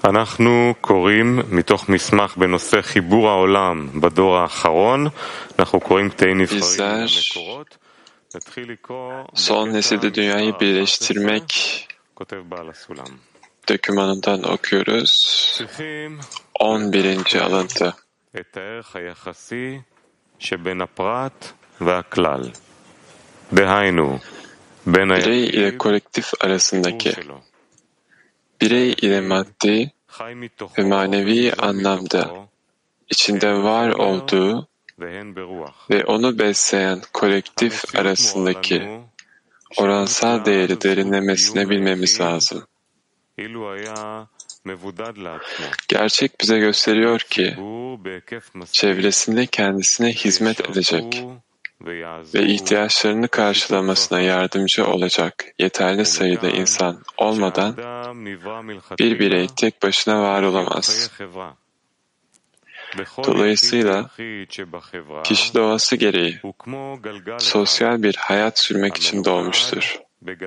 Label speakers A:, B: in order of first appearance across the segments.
A: אנחנו קוראים מתוך מסמך בנושא חיבור העולם בדור האחרון. אנחנו קוראים קטעים נבחרים מהמקורות. נתחיל לקרוא
B: Son nesilde dünyayı birleştirmek
A: כותב בעל הסולם.
B: dokümanından okuyoruz. 11. alıntı.
A: את הערך היחסי שבין הפרט והכלל. דהיינו, בין
B: Birey ile kolektif arasındaki, birey ile maddi ve manevi anlamda içinde var olduğu ve onu besleyen kolektif arasındaki oransal değeri derinlemesine bilmemiz lazım. Gerçek bize gösteriyor ki çevresinde kendisine hizmet edecek ve ihtiyaçlarını karşılamasına yardımcı olacak yeterli sayıda insan olmadan bir birey tek başına var olamaz. Dolayısıyla kişi doğası gereği sosyal bir hayat sürmek için doğmuştur.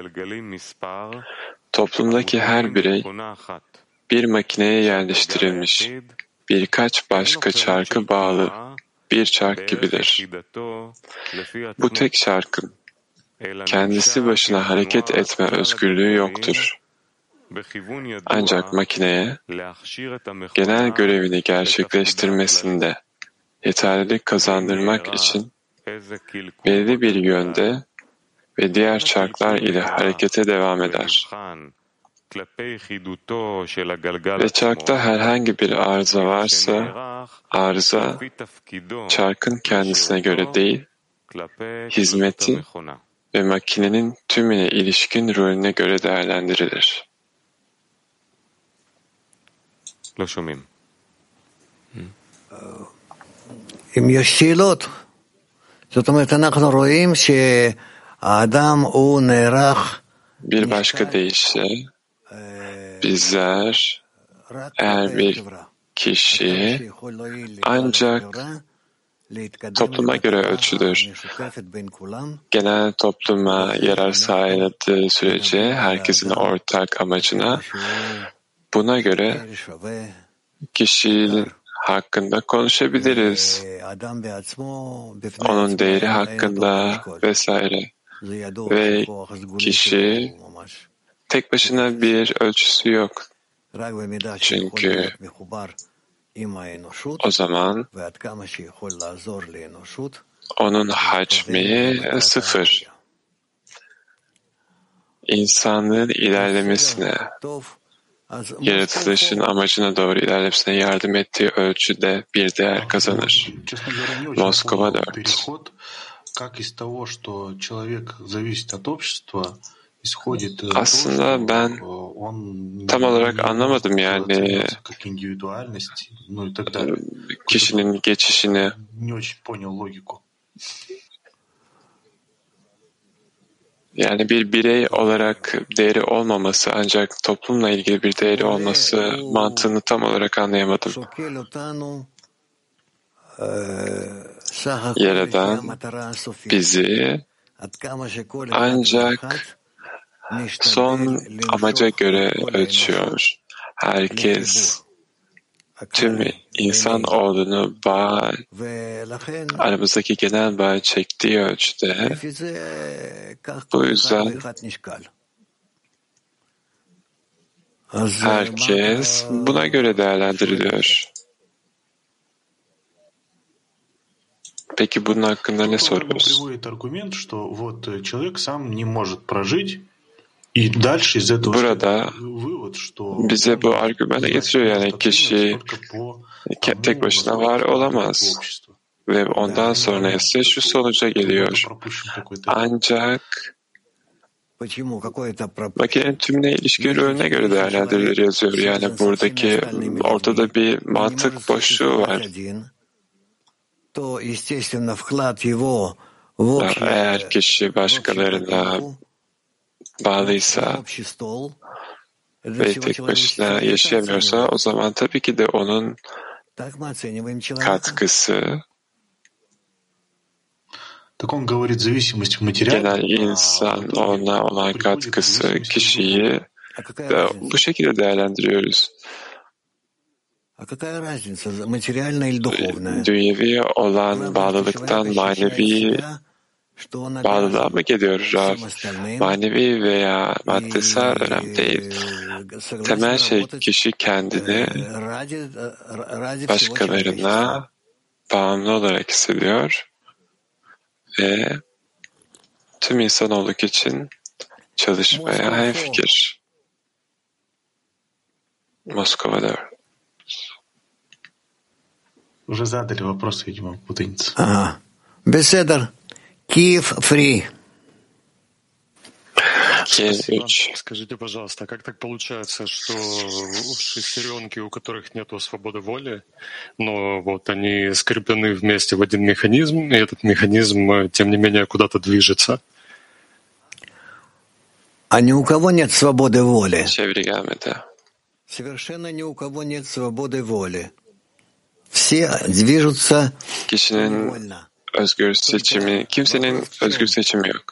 B: Toplumdaki her birey bir makineye yerleştirilmiş birkaç başka çarkı bağlı bir çark gibidir. Bu tek çarkın kendisi başına hareket etme özgürlüğü yoktur. Ancak makineye genel görevini gerçekleştirmesinde yeterlilik kazandırmak için belli bir yönde ve diğer çarklar ile harekete devam eder. Ve çarkta herhangi bir arıza varsa, arıza çarkın kendisine göre değil, hizmeti ve makinenin tümüne ilişkin rolüne göre değerlendirilir.
C: אם יש שאלות, זאת אומרת, אנחנו רואים שהאדם הוא נערך.
B: Bir başka deyişle, bizler eğer bir kişi ancak topluma göre ölçülür, genel topluma yarar sağladığı sürece herkesin ortak amacına, buna göre kişinin hakkında konuşabiliriz. Onun değeri hakkında vesaire. Ve kişi tek başına bir ölçüsü yok. Çünkü o zaman onun hacmi sıfır. İnsanlığın ilerlemesine, yaratılışın amacına doğru ilerlemesine yardım ettiği ölçüde bir değer kazanır. Moskova 4. Aslında ben tam olarak anlamadım yani kişinin geçişini. Yani bir birey olarak değeri olmaması ancak toplumla ilgili bir değeri olması mantığını tam olarak anlayamadım. Yaradan bizi ancak son amaca göre ölçüyor. Herkes tüm insanoğlunu aramızdaki genel bağ çektiği ölçüde bu yüzden herkes buna göre değerlendiriliyor. Peki bunun hakkında ne soruyoruz? Burada bize bu argümanı getiriyor yani kişi tek başına var olamaz. Ve ondan sonra ise şu sonuca geliyor. Ancak makinenin tümüne ilişkin rolüne göre değerlendirilir yazıyor. Yani buradaki ortada bir mantık boşluğu var. Eğer kişi başkalarına bağlıysa ve tek başına yaşayamıyorsa o zaman tabii ki de onun katkısı genel insan ona olan katkısı kişiyi bu şekilde değerlendiriyoruz. dünyevi olan bağlılıktan manevi bağlılığa mı geliyor Rav? Manevi veya maddesel önemli değil. Temel şey kişi kendini başkalarına bağımlı olarak hissediyor ve tüm insanoğlu için çalışmaya hemfikir. Moskova'da.
D: Уже задали вопрос, видимо, путаница.
C: Ага. Беседер. Киев free.
E: Скажите, пожалуйста, как так получается, что шестеренки, у которых нет свободы воли, но вот они скреплены вместе в один механизм, и этот механизм, тем не менее, куда-то движется?
C: А ни у кого нет свободы воли.
B: Çeviri gelmedi.
C: Совершенно ни у кого нет свободы воли. Все движутся невольно.
B: Özgür seçimi, kimsenin özgür seçimi yok.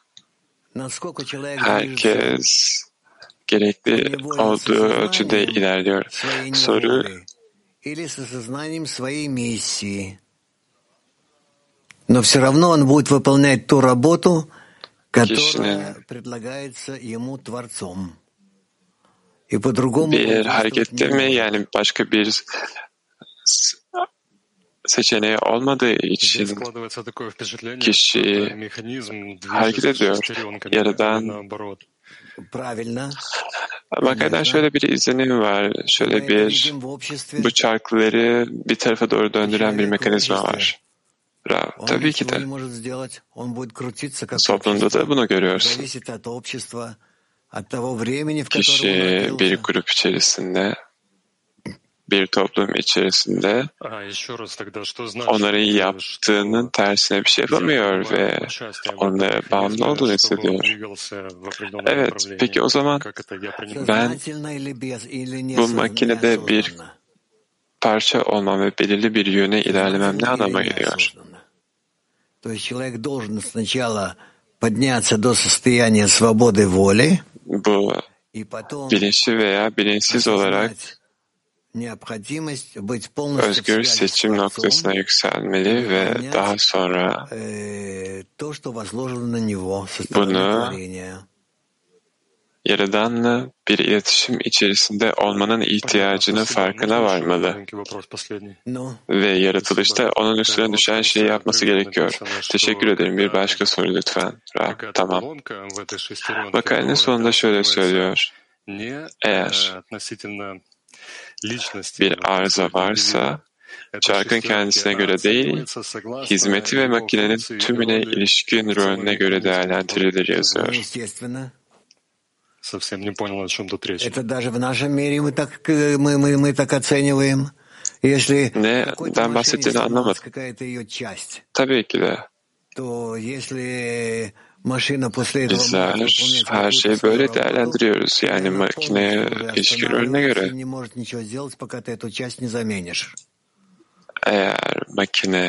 B: Herkes gerekli olduğu ölçüde ilerliyor. Soru,
C: но все равно он будет выполнять ту работу, которая предлагается ему Творцом. И по-другому
B: bir harekette mi, yani başka bir seçeneği olmadığı için kişi hareket ediyor. Yaradan Bakaydan şöyle bir izlenim var. Şöyle bir bu çarkları bir tarafa doğru döndüren bir mekanizma var. Tabii ki de. Toplumda da bunu görüyorsun. Kişi bir grup içerisinde, bir toplum içerisinde onların yaptığının tersine bir şey yapamıyor ve onlara bağımlı olduğunu hissediyor. Evet, peki o zaman ben bu makinede bir parça olmam ve belirli bir yöne ilerlemem ne anlama geliyor? Bu bilinçli veya bilinçsiz olarak özgür seçim noktasına yükselmeli ve daha sonra bunu Yaradan'la bir iletişim içerisinde olmanın ihtiyacının farkına varmalı ve yaratılışta onun üstüne düşen şeyi yapması gerekiyor. Teşekkür ederim. Bir başka soru lütfen. Tamam. Bakayın sonunda şöyle söylüyor. Eğer bir arıza varsa, çarkın kendisine göre değil, hizmeti ve makinenin tümüne ilişkin rolüne göre değerlendirilir yazıyor.
C: Это даже в нашем мире мы так оцениваем.
B: Neden bahsettiğini anlamadım. Tabii ki de. Bizler her şeyi böyle değerlendiriyoruz. Yani makineye ilişkin rolüne göre. Eğer makine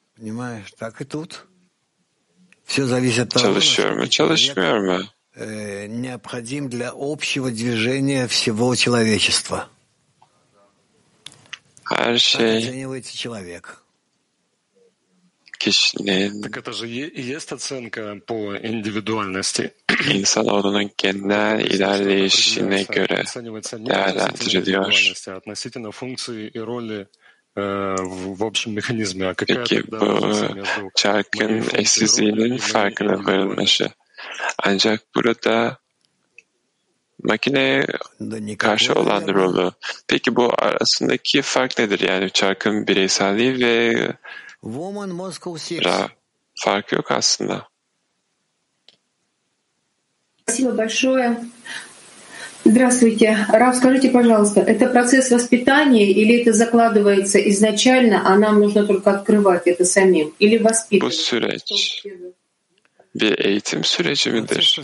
B: çalışıyor mu, çalışmıyor mu?
C: Необходим для общего движения всего человечества.
B: Her şey kişinin insanoğlunun genel ilerleyişine göre değerlendiriliyor. Peki bu çarkın eşsizliğinin farkına varılması. Ancak burada makineye karşı olan rolü. Peki bu arasındaki fark nedir? Yani çarkın bireyselliği ve farkı yok aslında.
F: Спасибо большое. Здравствуйте. Рав, скажите, пожалуйста, это процесс воспитания или это закладывается изначально, а нам нужно только открывать это самим? Или воспитывать?
B: Bu süreç bir eğitim süreci midir?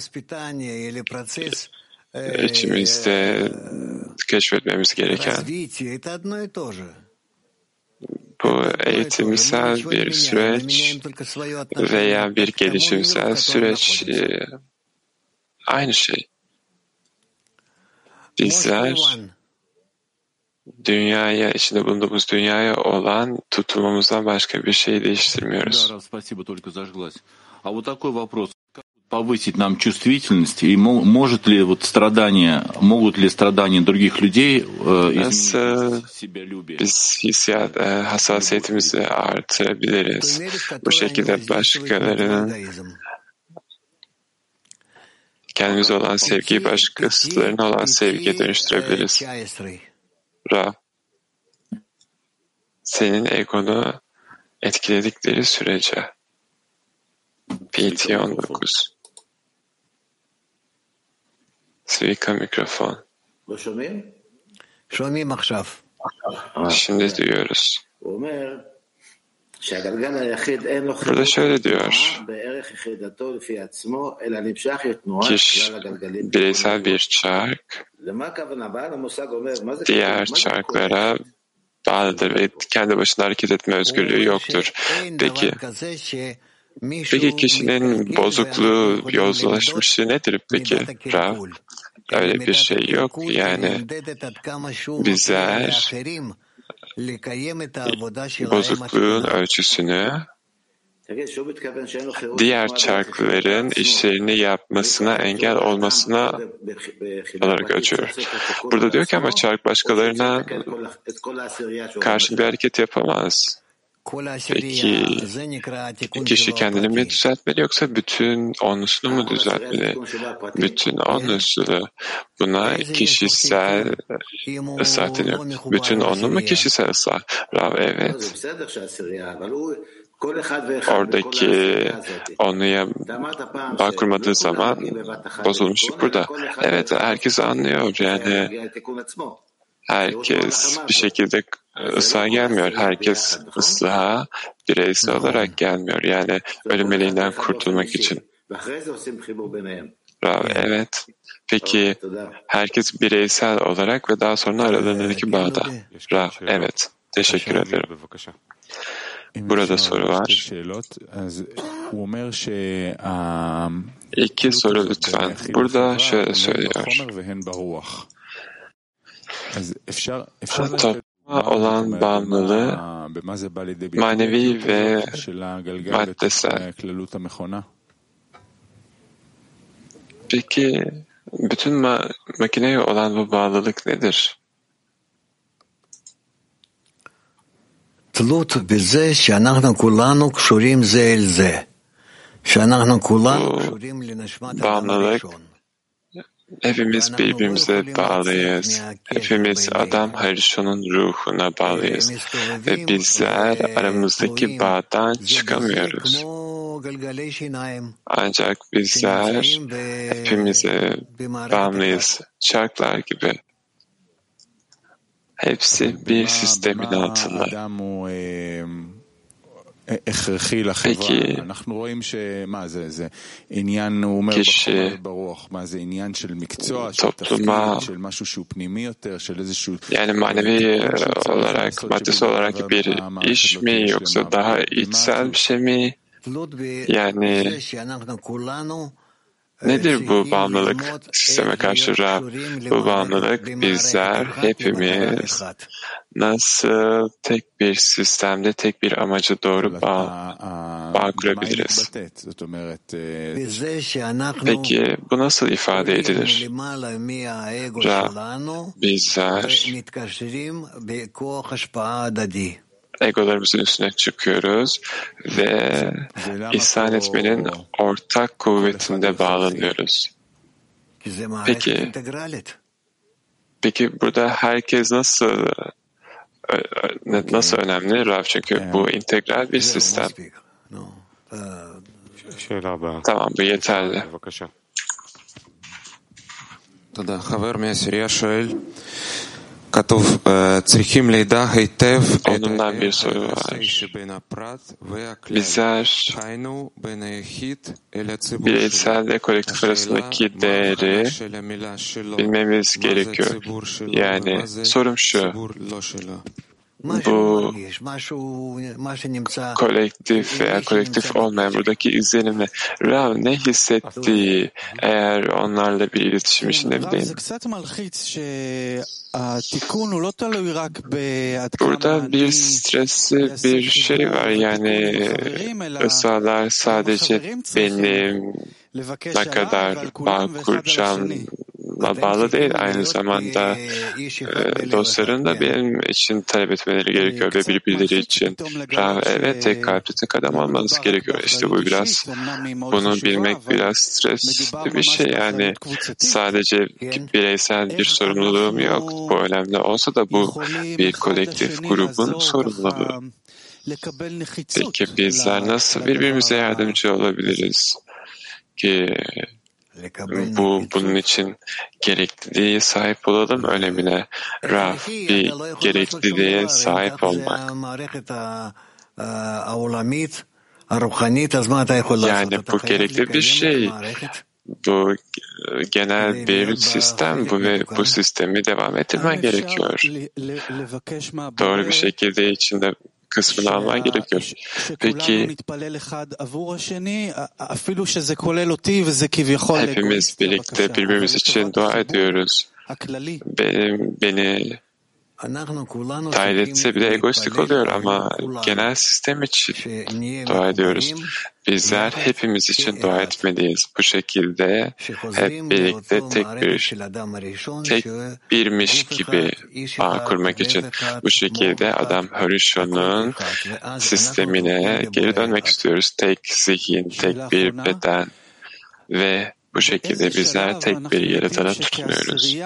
B: İçimizde keşfetmemiz gereken bu eğitimsel bir süreç veya bir gelişimsel süreç aynı şey. Bizler dünyaya, içinde bulunduğumuz dünyaya olan tutumumuzdan başka bir şey değiştirmiyoruz.
G: Повысить нам чувствительность и могут ли страдания других людей изменить себялюбие?
B: Biz hassasiyetimizi artırabiliriz. Bu şekilde başkalarının kendimize olan sevgiyi başkasılarına olan sevgiye dönüştürebiliriz. Ra, senin egonu etkiledikleri sürece PT 19 Svika mikrofon. Şimdi duyuyoruz. Burada şöyle diyor. Bireysel bir çark diğer çarklara bağlıdır ve kendi başına hareket etme özgürlüğü yoktur. Peki kişinin bozukluğu, yozlaşmışlığı nedir peki Rav? Öyle bir şey yok. Yani bizler bozukluğun ölçüsünü diğer çarkların işlerini yapmasına, engel olmasına olarak ölçüyor. Burada diyor ki ama çark başkalarına karşı bir hareket yapamaz. Peki kişi kendini mi düzeltmeli yoksa bütün onlusunu mu düzeltmeli? Bütün onlusunu. Buna kişisel ıslah deniyor. Bütün onlu mu kişisel ıslah? Rav, evet. Oradaki onluya bağ kurmadığı zaman bozulmuşluk burada. Evet, herkes anlıyor. Yani herkes bir şekilde ıslaha gelmiyor. Herkes ıslaha bireysel olarak gelmiyor. Yani ölüm meleğinden kurtulmak için. Bravo, evet. Peki herkes bireysel olarak ve daha sonra aralarındaki bağda. Bravo, evet. Teşekkür ederim. Burada soru var. İki soru lütfen. Burada şöyle söylüyor. Topluma olan bağımlılığı manevi ve maddesel. Peki bütün makineye olan bu bağlılık nedir?
C: תלות בזה שאנחנו כולנו קשורים זה אל זה. שאנחנו כולנו קשורים לנשמת האדם הראשון.
B: Hepimiz birbirimize bağlıyız. Hepimiz Adam Harishon'un ruhuna bağlıyız. Ve bizler aramızdaki bağdan çıkamıyoruz. Ancak bizler hepimize bağımlıyız. Çarklar gibi. Hepsi bir sistemin altında. Peki kişi topluma yani manevi olarak, maddesi olarak bir iş mi yoksa daha içsel bir şey mi? Yani nedir bu bağımlılık sisteme karşı Rab? Bu bağımlılık bizler hepimiz nasıl tek bir sistemde tek bir amaca doğru bağ kurabiliriz? Peki bu nasıl ifade edilir? Rab, bizler egolarımızın üstüne çıkıyoruz ve ihsan etmenin ortak kuvvetinde bağlanıyoruz. Peki burada herkes nasıl önemli Rav? Çünkü bu integral bir sistem. Tamam, bu yeterli. Onundan bir soru var. Bizler bireysel ve kolektif arasındaki değeri bilmemiz gerekiyor. Yani sorum şu. bu kolektif veya kolektif olmayan buradaki izlenimle Rav ne hissettiği eğer onlarla bir iletişim içinde mi değil? Burada bir stresli bir şey var, yani ısrarlar sadece benim ne kadar bağ kuracağımla bağlı değil, aynı zamanda dostların da benim için talep etmeleri gerekiyor ve birbirleri için. Evet, tek kalpli tek adam olmanız gerekiyor. İşte bu biraz, bunu bilmek biraz stresli bir şey, yani sadece bireysel bir sorumluluğum yok. Bu önemli olsa da bu bir kolektif grubun sorumluluğu. Peki bizler nasıl birbirimize yardımcı olabiliriz ki bunun için gerekliliğe sahip olalım önemine? Raf, bir gerekliliğe sahip olmak. Yani bu gerekli bir şey. Bu genel bir sistem bu ve bu sistemi devam ettirmen gerekiyor. Doğru bir şekilde içinde kısmını alman gerekiyor. Peki hepimiz birlikte birbirimiz için dua ediyoruz. Beni dahil etse bile egoistik oluyor ama genel sistem için dua ediyoruz. Bizler hepimiz için dua etmeliyiz. Bu şekilde hep birlikte tek birmiş gibi bağ kurmak için. Bu şekilde Adam Harishon'un sistemine geri dönmek istiyoruz. Tek zihin, tek bir beden ve bu şekilde bizler tek bir yaratana tutunuyoruz.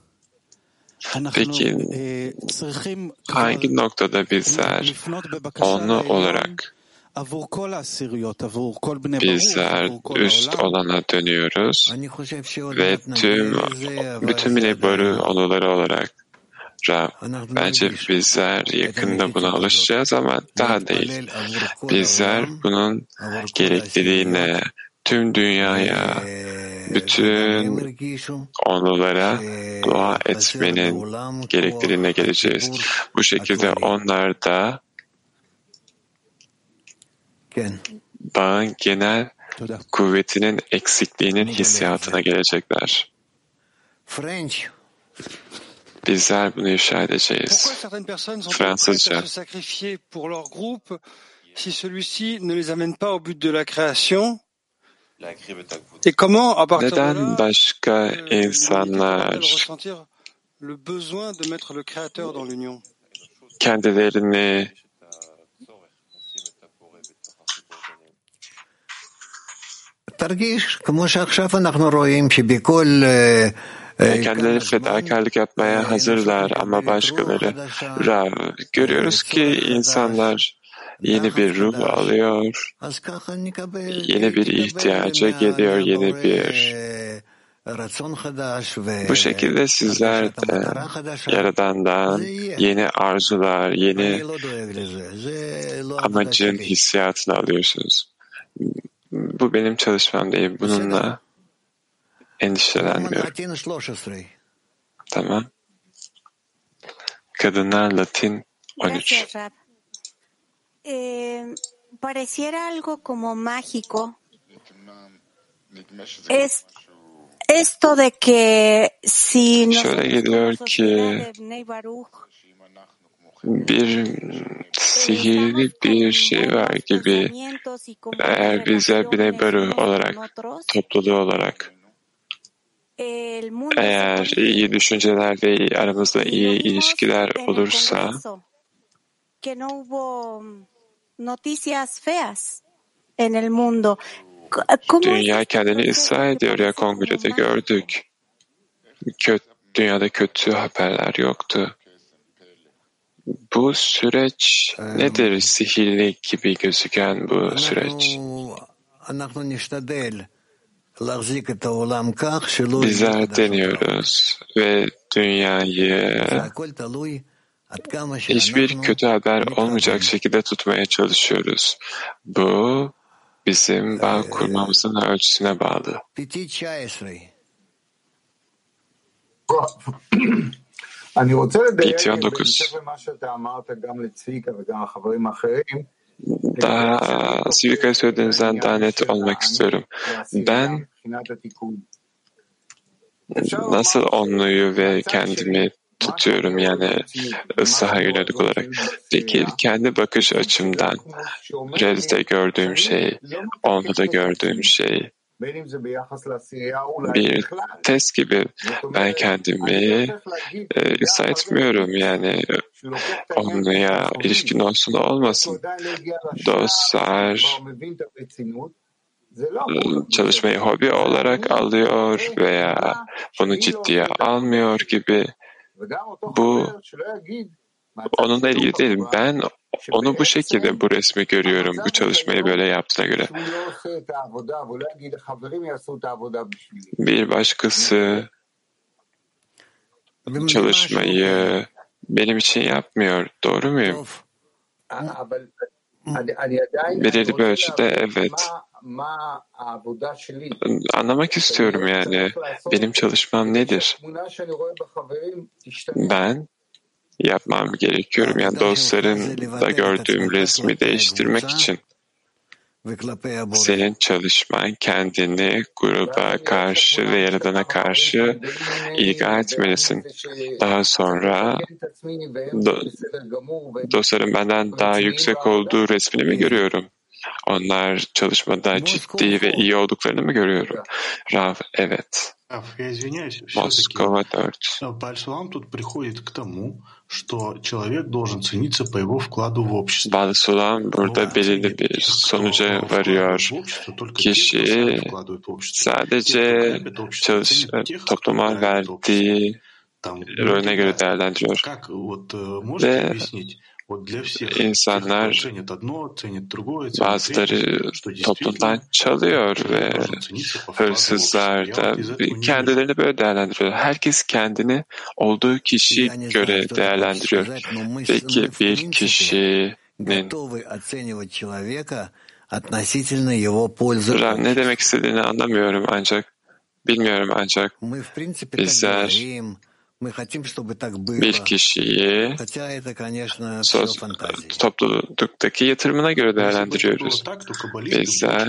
B: Peki hangi noktada bizler onu olarak bizler üst olana dönüyoruz ve bütün minibörü onuları olarak bence bizler yakında buna alışacağız ama daha değil. Bizler bunun gerekliliğine, tüm dünyaya, bütün onulara dua etmenin gerekliliğine geleceğiz. Bu şekilde onlar da bağın genel kuvvetinin eksikliğinin hissiyatına gelecekler. Bizler bunu ifşa edeceğiz. Fransızca. Neden başka insanlar kendilerini kendileri fedakarlık yapmaya hazırlar ama başkaları görüyoruz ki insanlar yeni bir ruh alıyor, yeni bir ihtiyaca geliyor, yeni bir. Bu şekilde sizler de Yaradan'dan yeni arzular, yeni amacın hissiyatını alıyorsunuz. Bu benim çalışmam değil. Bununla endişelenmiyorum. Tamam. Kadınlar Latin 13.
H: Pareciera algo como mágico esto de que si
B: şöyle geliyor ki bir sihirli bir şey var gibi, eğer bizler Bnei Baruch olarak, topluluğu olarak, eğer iyi düşünceler ve aramızda iyi ilişkiler olursa dünya kendini ıslah ediyor ya, kongrede gördük. Dünyada kötü haberler yoktu. Bu süreç nedir? Sihirli gibi gözüken bu süreç. Bizler deniyoruz ve dünyayı hiçbir kötü haber olmayacak şekilde tutmaya çalışıyoruz. Bu bizim bağ kurmamızın ölçüsüne bağlı. BT 19. Daha Sivika'ya söylediğinizden daha net olmak istiyorum. Ben nasıl onluyu ve kendimi tutuyorum yani ıslaha yönelik olarak. Peki kendi bakış açımdan realite gördüğüm şey, onluda gördüğüm şey bir test gibi ben kendimi ıslah etmiyorum yani onluya ilişkin olsun da olmasın. Dostlar çalışmayı hobi olarak alıyor veya bunu ciddiye almıyor gibi. Bu onunla ilgili değil. Ben onu bu şekilde bu resmi görüyorum. Bu çalışmayı böyle yaptığına göre. Bir başkası çalışmayı benim için yapmıyor. Doğru muyum? Belirli bir ölçüde evet. Anlamak istiyorum yani. Benim çalışmam nedir? Ben yapmam gerekiyorum. Yani dostların da gördüğüm resmi değiştirmek için. Senin çalışman kendini gruba karşı ve Yaradan'a karşı ilga etmelisin. Daha sonra dostların benden daha yüksek olduğu resmini mi görüyorum? Onlar çalışmada ciddi ve iyi olduklarını mı görüyorum? Rav, evet. Moskova 4. Balsulam burada belirli bir sonuca varıyor. Kişi sadece topluma verdiği rolüne göre değerlendiriyor. Ve İnsanlar bazıları toplumdan çalıyor ve hırsızlar da kendilerini böyle değerlendiriyor. Herkes kendini olduğu kişiye göre değerlendiriyor. Peki bir kişinin ne demek istediğini anlamıyorum ancak bizler bir kişiyi topluluktaki yatırımına göre değerlendiriyoruz. Bizler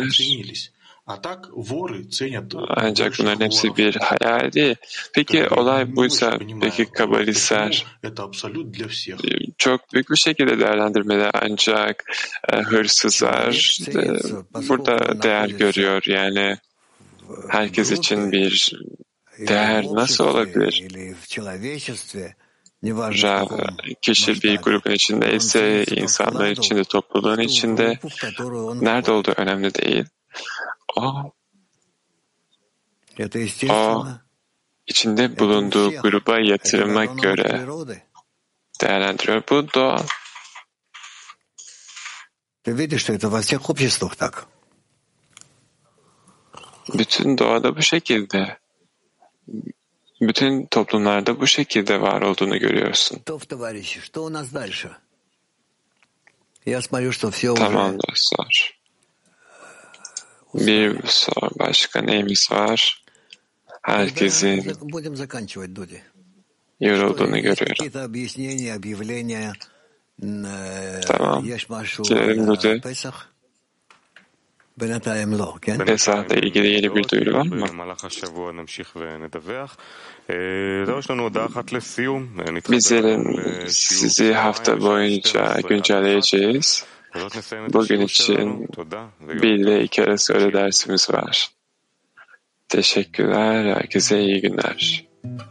B: ancak bunların hepsi bir hayal değil. Peki olay buysa, peki kabalistler çok büyük bir şekilde değerlendirmeli ancak hırsızlar burada değer görüyor. Yani herkes için bir değer nasıl olabilir? Kişi bir grubun içindeyse, insanların içinde, topluluğun içinde nerede olduğu önemli değil. O içinde bulunduğu gruba yatırıma göre değerlendiriyor. Bu doğal. Bütün doğada bu şekilde. Bütün toplumlarda bu şekilde var olduğunu görüyorsun. Tamam dostlar. Bir soru başka neyimiz var? Herkesin yorulduğunu görüyorum. Tamam. Girelim Dudi. Pesah'la ilgili yeni bir duyuru var mı? Bizlerin sizi hafta boyunca güncelleyeceğiz. Bugün için 1 ile 2 arası öğle dersimiz var. Teşekkürler. Herkese iyi günler.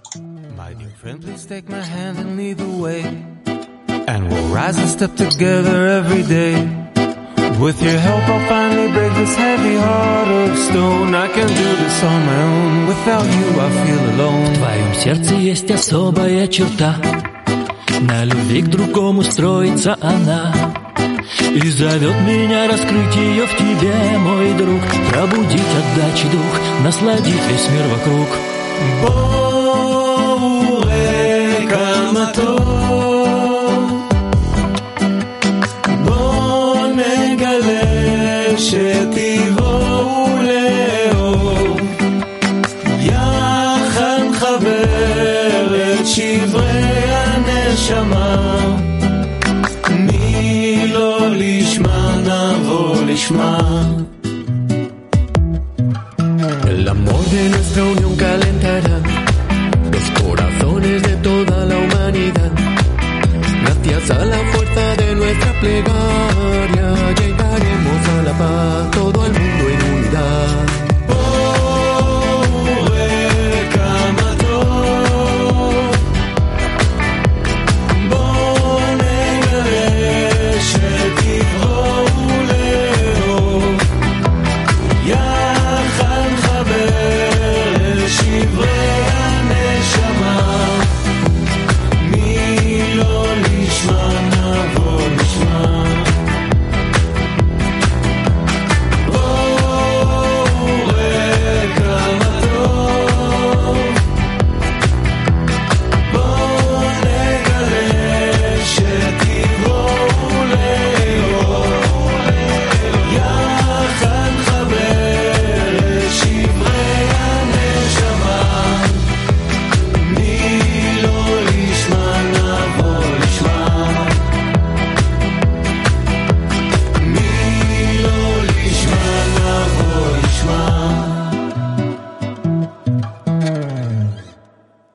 B: With your help I'll finally break this heavy heart of stone. I can do this on my own. Without you I feel alone. В твоем сердце есть особая черта. На любви к другому строится она. И зовет меня раскрыть ее в тебе, мой друг. Пробудить, отдать дух, насладить весь мир вокруг. Боуэ камато. שתבואו לאור יחד חבר את שברי
I: נשמה, מי לא לשמה נבוא לשמה.
J: El amor de nuestra unión calentará los corazones de toda la humanidad. Gracias a la fuerza de nuestra plegaria llegaremos a la paz, todo el mundo.